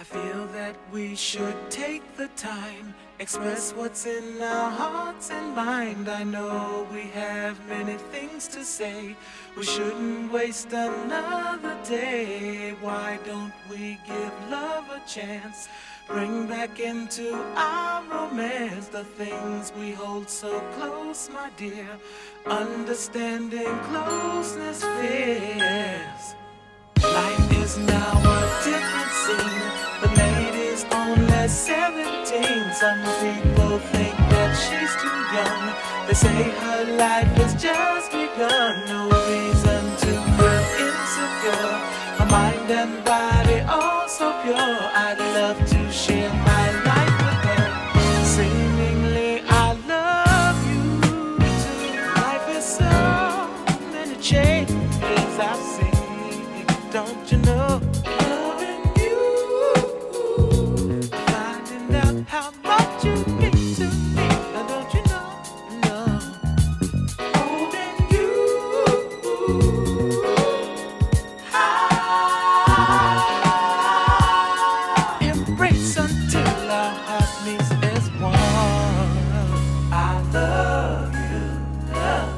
I feel that we should take the time, express what's in our hearts and mind. I know we have many things to say. We shouldn't waste another day. Why don't we give love a chance? Bring back into our romance the things we hold so close, my dear. Understanding, closeness, fears. Life is now a different scene. The lady's only 17. Some people think that she's too young. They say her life has just begun. No reason to feel insecure. Her mind and body all so pure. I'd love to share my life with her. Seemingly I love you too. Life is so many changes I've seen. Don't you know? Loving you, finding out how much you mean to me. Now don't you know? No. Holding you high. Embrace until our heart meets as one. I love you, love.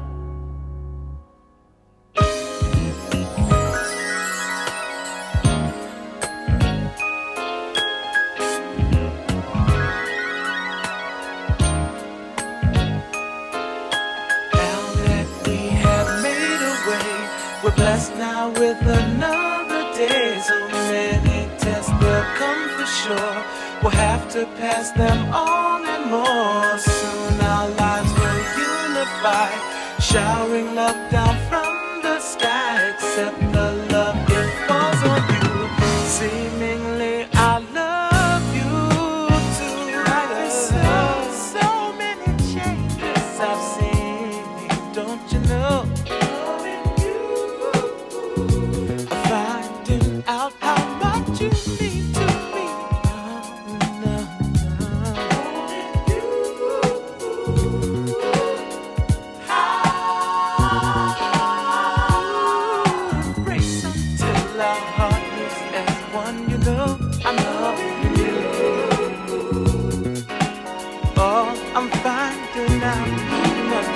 We're blessed now with another day. So many tests will come for sure. We'll have to pass them on and more. Soon our lives will unify, showering love down from the sky. Accept the love it falls on you. Seemingly I love you too. Life is so many changes I've seen. Don't you know? Finding out how much you mean to me. Embrace until our heart is as one. You know I'm loving you. Oh, I'm finding out how much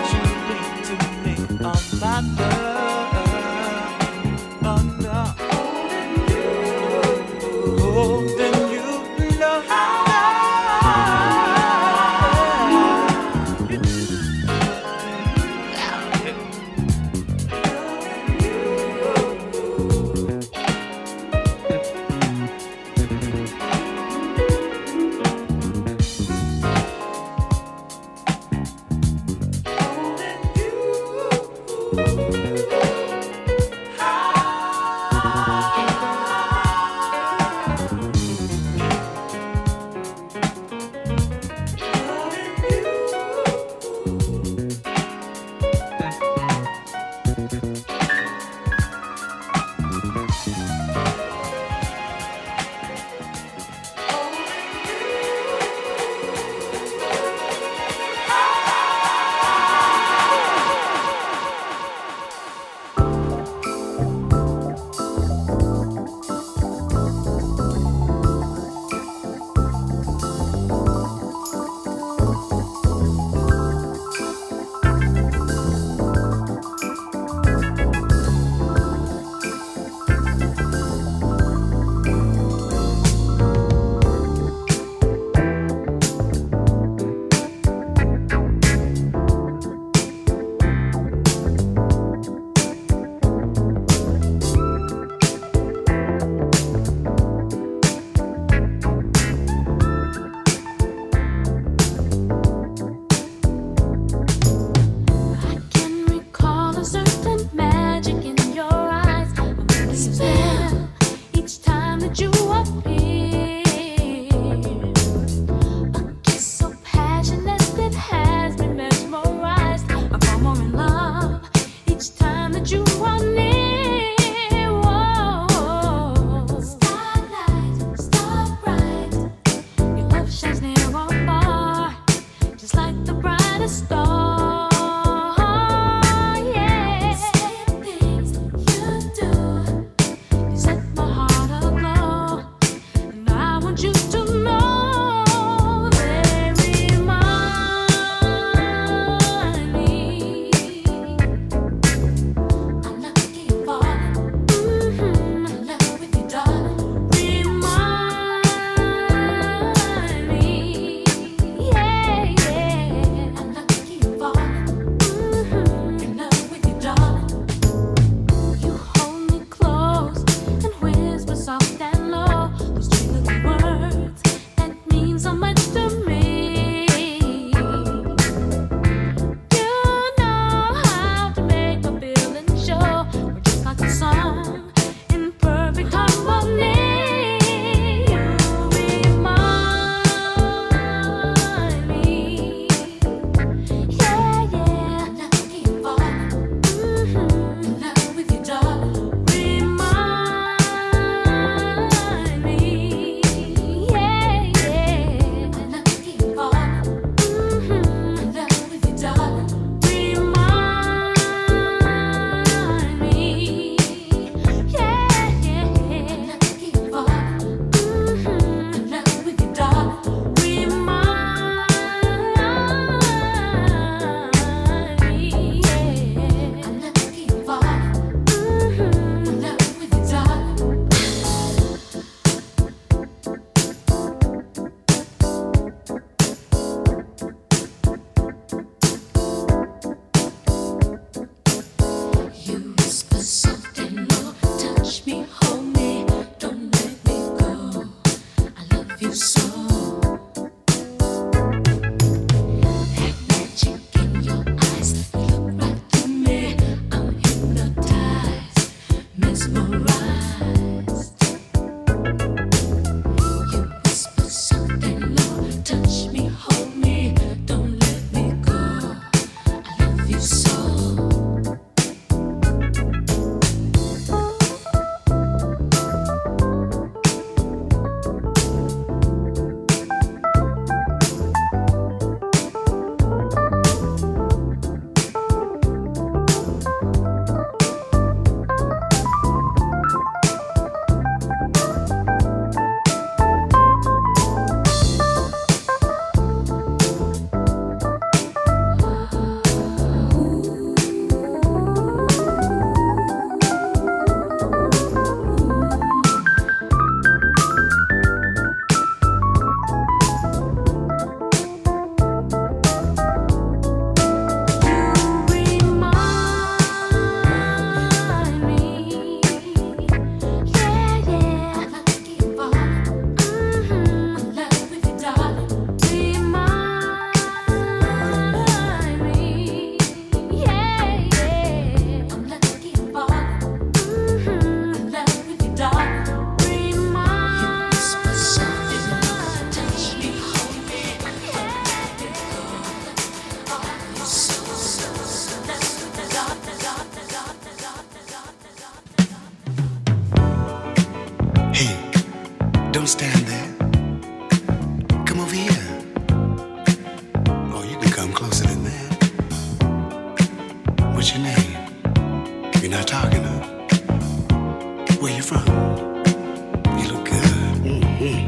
Don't stand there. Come over here. Oh, you can come closer than that. What's your name? You're not talking, huh? Where you from? You look good. Mm-hmm.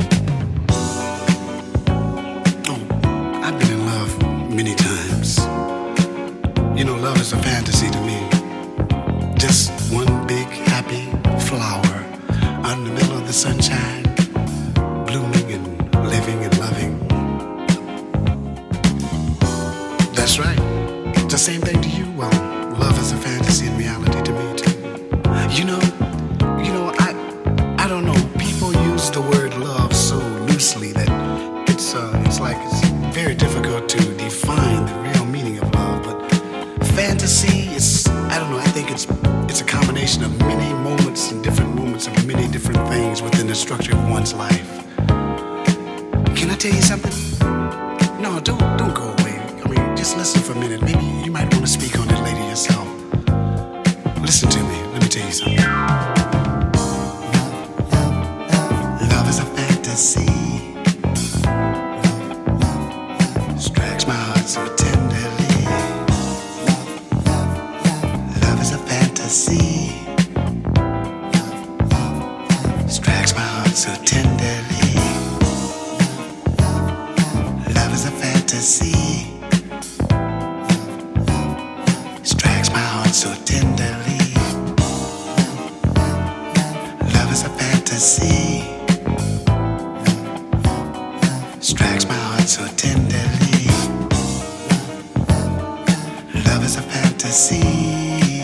Oh, I've been in love many times. You know, love is a fantasy to me. Just one big happy flower out in the middle of the sunshine, blooming and living and loving. That's right. It's the same thing to you. Well, love is a fantasy and reality to me too. You know, I don't know. People use the word love so loosely that it's very difficult to define the real meaning of love. But fantasy is, I don't know. I think it's a combination of many moments and different moments of many different things within the structure of one's life. Can I tell you something? No, don't go away. I mean, just listen for a minute. Maybe you might want to speak on it later yourself. Listen to me. Let me tell you something. Love is a fantasy. Strikes my heart so tenderly. Love is a fantasy. Strikes my heart so tenderly. Love is a fantasy. Strikes my heart so tenderly. Love is a fantasy. Strikes my heart so tenderly. Love is a fantasy.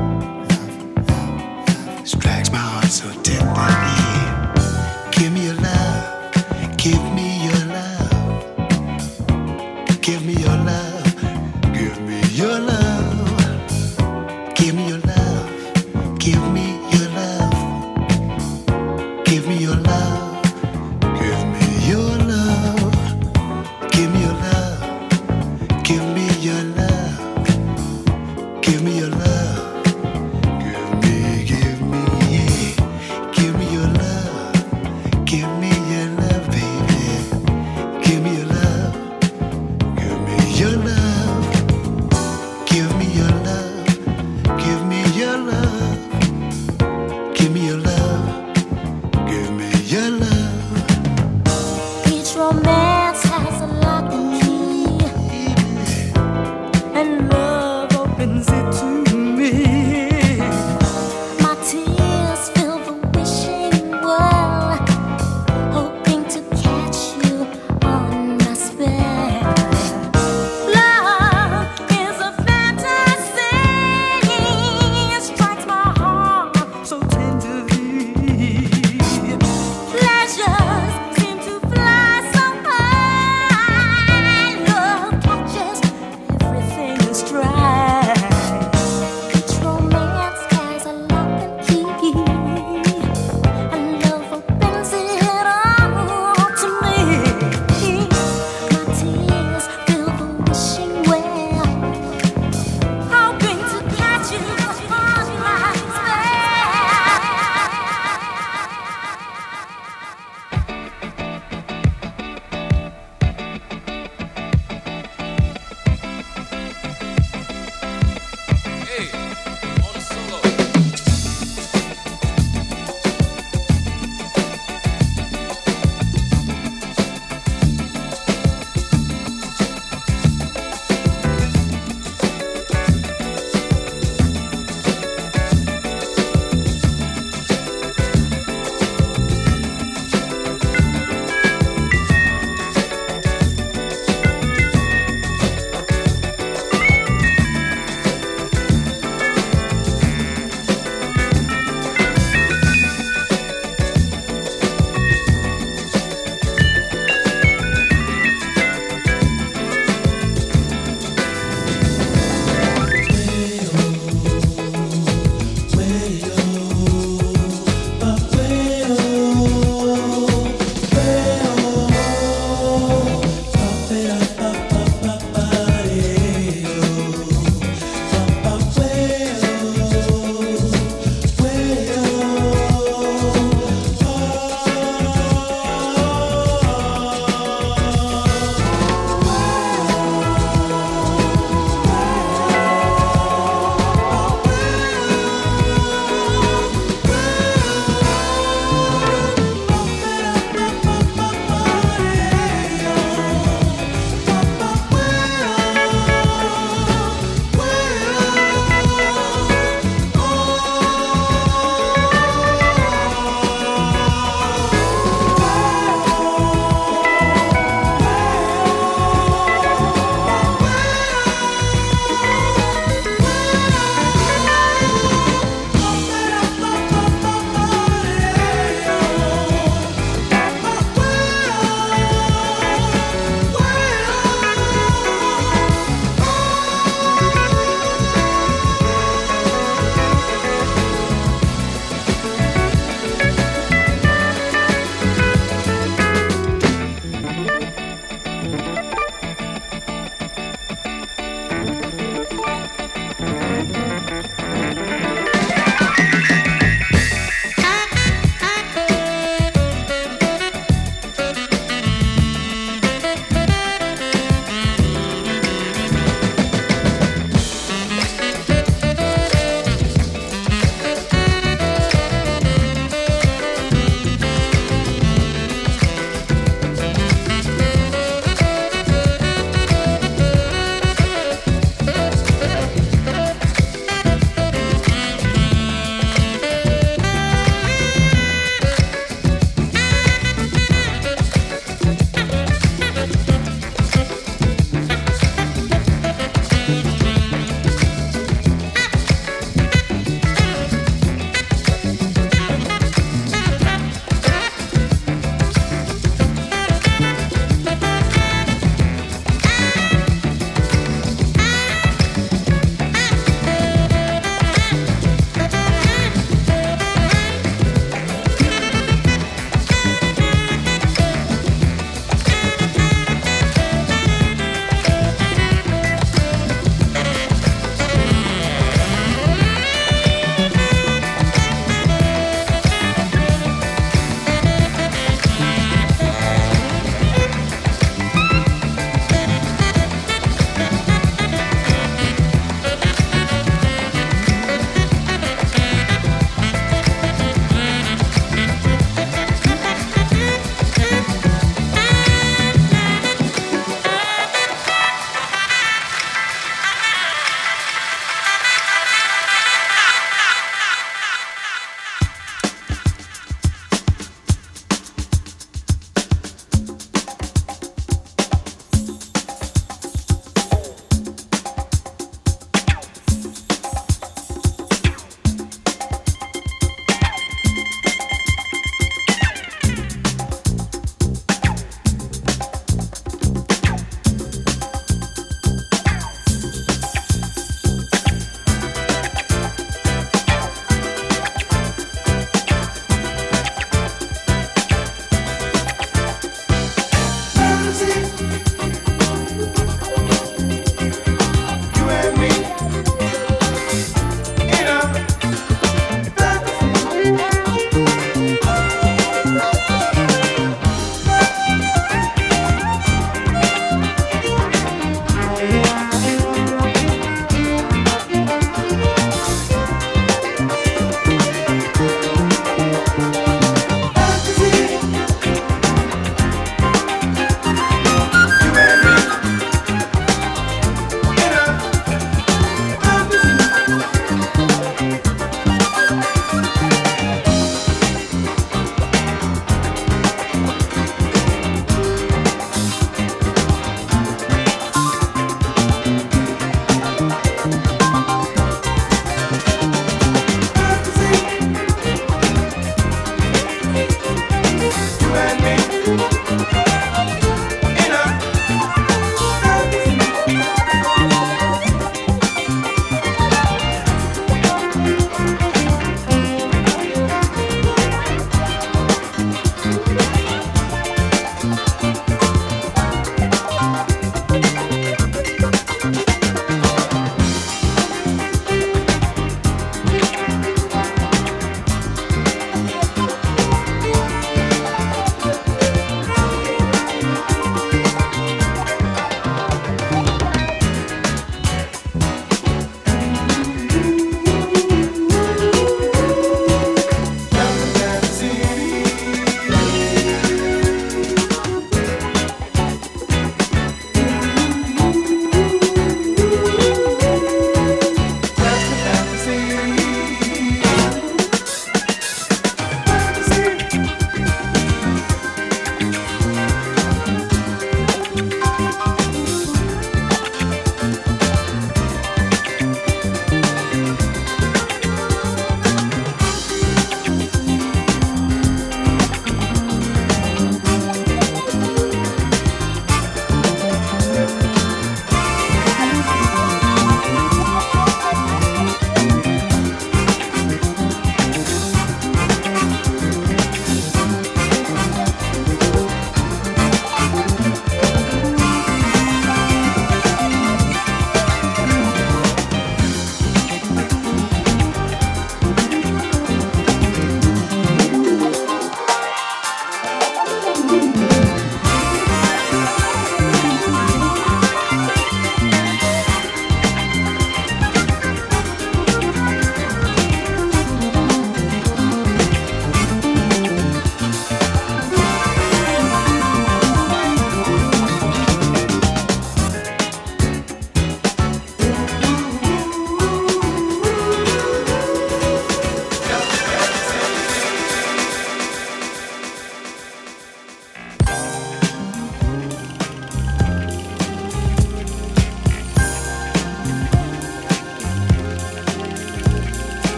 Strikes my heart so tenderly. Give me your love. Give me your love. Give me your love. Give me your love. Give me your love. Give me your love. Give me your love. Give me your love. Give me your love. Give me your love. Give me your love. Give me, yeah. Give me your love. Give me your love, baby. Give me your love. Give me your love. Give me your love. Give me your love. Give me your love. Give me your love. Each romance has a lock and key, and love opens it to me. My tears fill the wishing well, hoping to catch you on my spell. Love is a fantasy, it strikes my heart so tenderly. Pleasures seem to fly so high. Love catches everything in stride.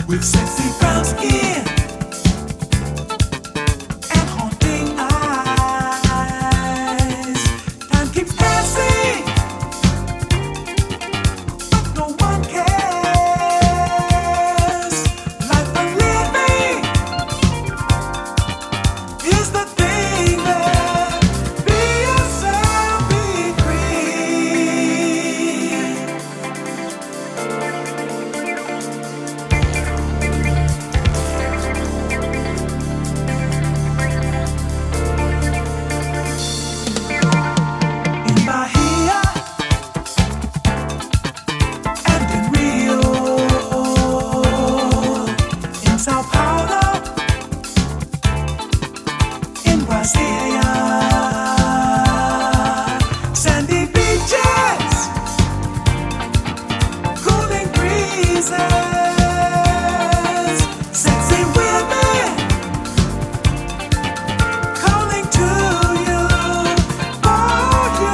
with sexy brown skin and haunting eyes. Time keeps passing, but no one cares. Life for living is the thing that be yourself, be free. In Bahia and in Rio, in Sao Paulo, in Brasilia, sandy beaches, cooling breezes, sexy women calling to you, for you.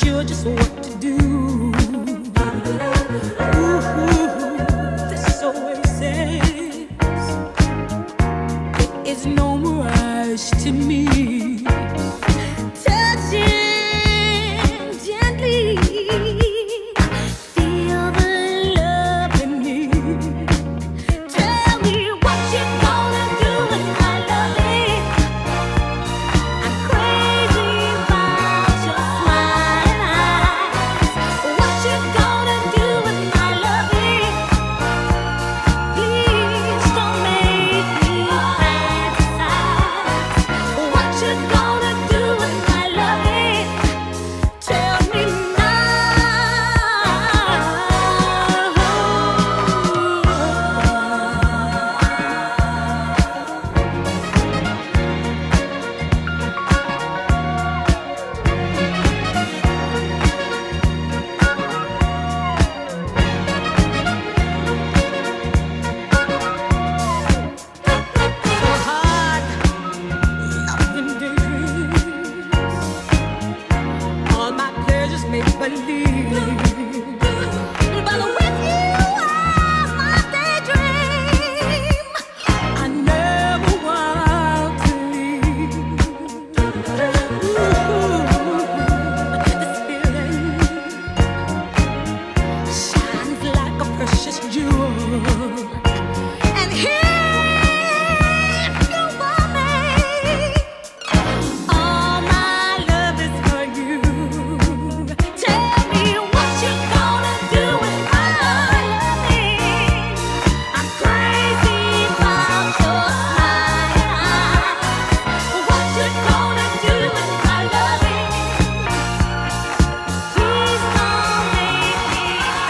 sure just what to do. Ooh, this oasis, it is no mirage to me. Touching gently, feel the love in me. Tell me what you gonna do with my loving. I'm crazy about your smiling eyes. What you gonna do with my loving? Please don't make me fantasize. What you gonna do with my loving? Tell me now. So hard, nothing daydreams. All my pleasures make believe. But with you, I'm my daydream. I never want to leave. This feeling shines like a precious jewel. And if you want me, all my love is for you. Tell me what you gonna do with my loving. I'm crazy about your smiling eyes. What you gonna do with my loving? Please don't make me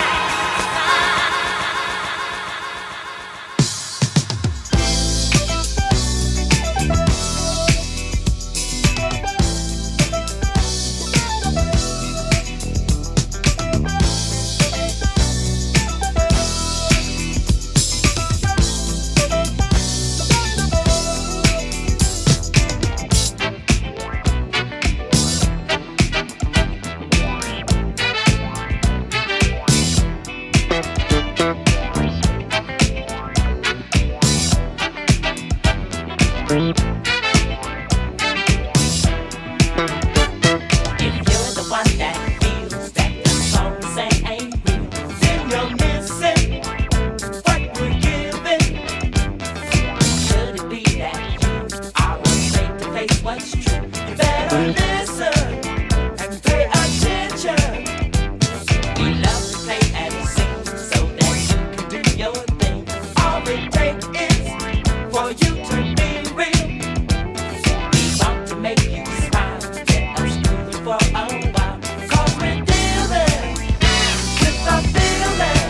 If you're the one that feels that the song say ain't real, then you're missing what we're giving. Could it be that you are afraid to face what's true? You better listen and pay attention. We love to play and sing so that you can do your thing. All it takes is for you to be real. We want to make you smile, get us moving for a while. 'Cause we're dealing with the feeling.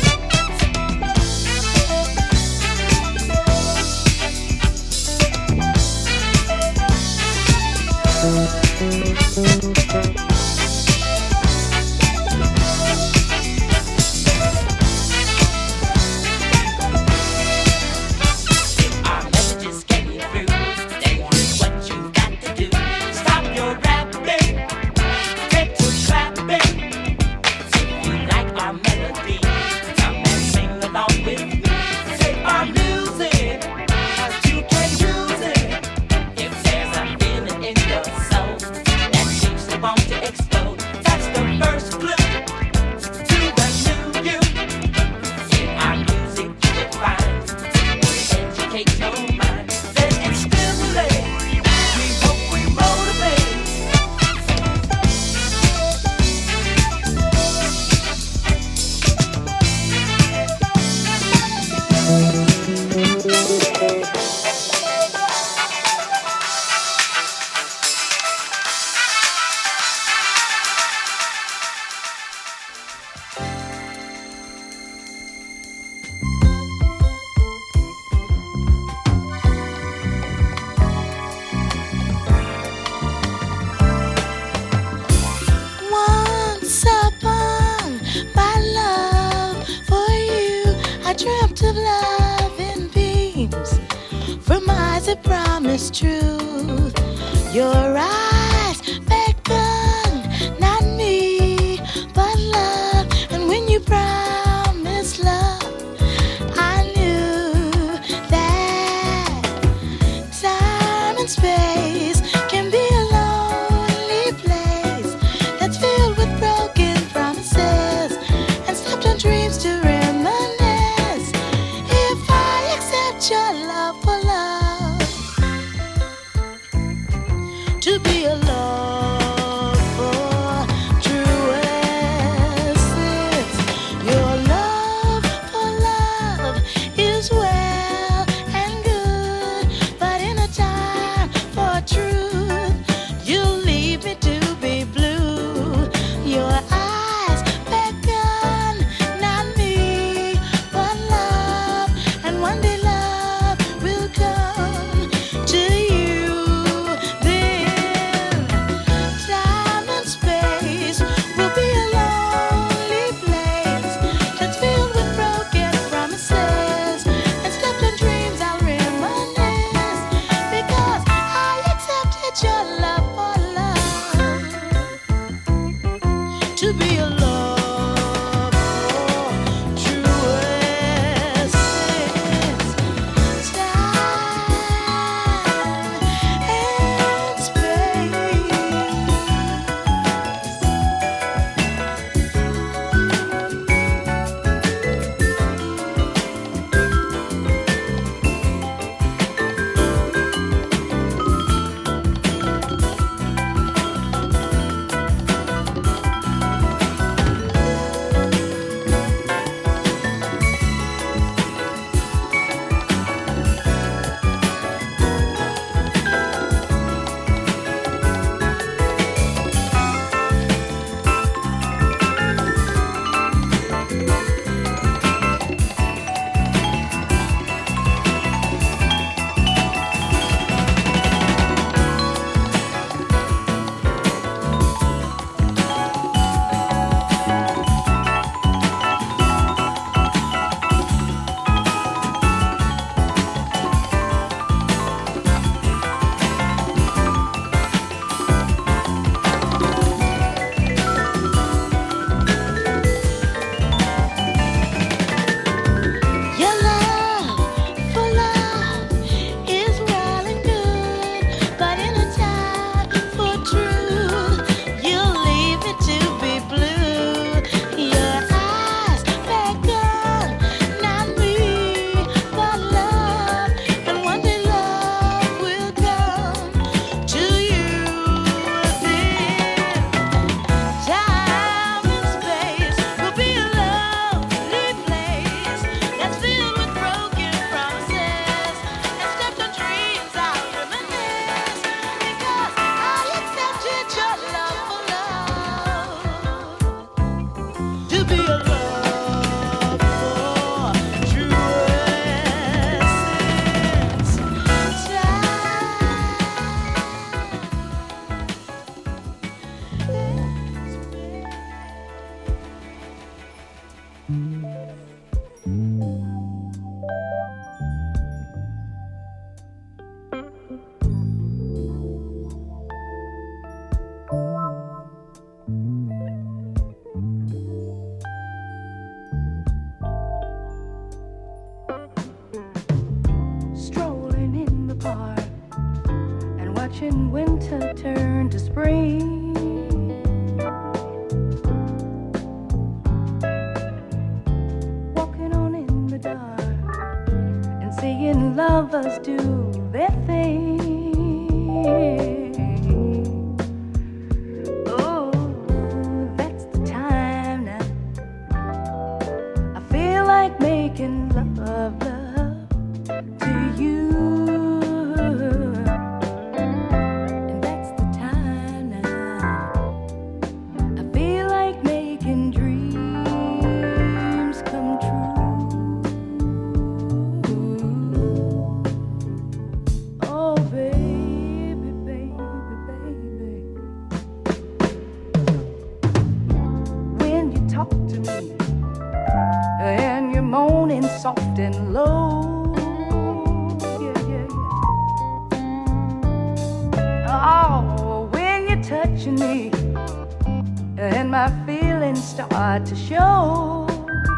Our messages getting through. Then here's what you got to do. Stop your rapping, get to clapping. If you like our melody, come and sing along with me. Take our music, 'cause you can use it. If there's a feeling in your soul that seems to want to explode, that's the first clue to the new you. In our music you will find, educate your mind, then it stimulate. We hope we motivate. Once upon my love for you, I dreamt of love in beams from eyes that promise truth. Your eyes beckoned, not me. watching winter turn to spring. Walking on in the dark and seeing lovers do their thing. Oh, that's the time now. I feel like making love to you. Soft and low, yeah, yeah, yeah. Oh, when you're touching me and my feelings start to show.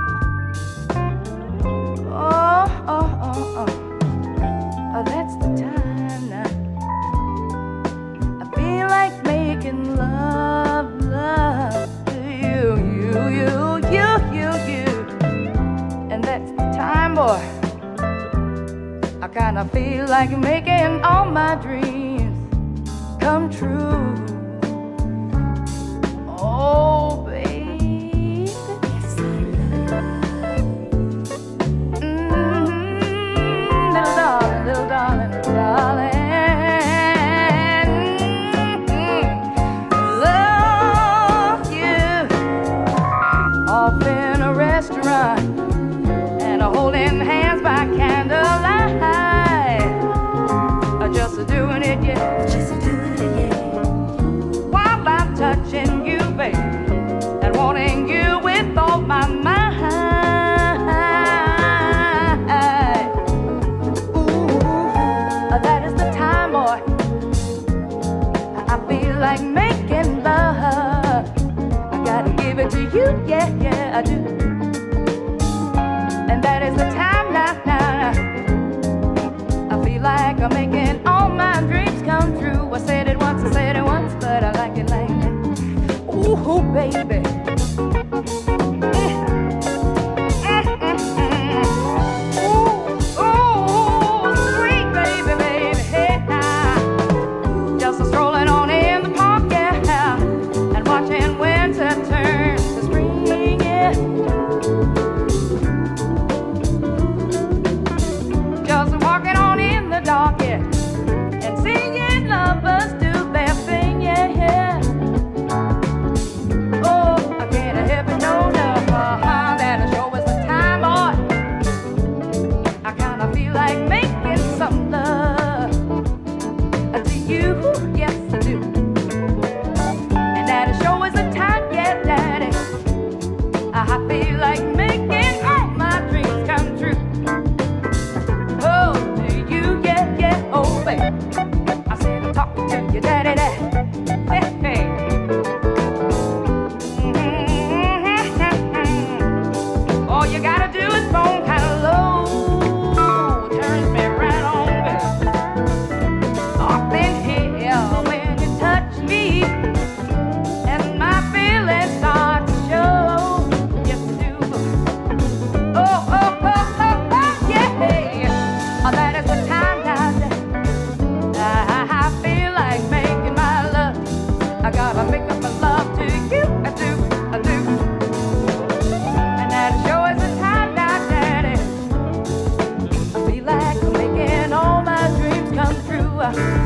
Oh, that's the time now. I feel like making love to you. And that's the time, boy. I kinda feel like making all my dreams come true. Oh, baby, little darling, little darling, little darling. Love you off in a restaurant, holding hands by candlelight, just doing it, yeah, just doing it, yeah. yeah, yeah, I do. And that is the time now. I feel like I'm making all my dreams come true. I said it once, but I like it like that. Ooh, baby. I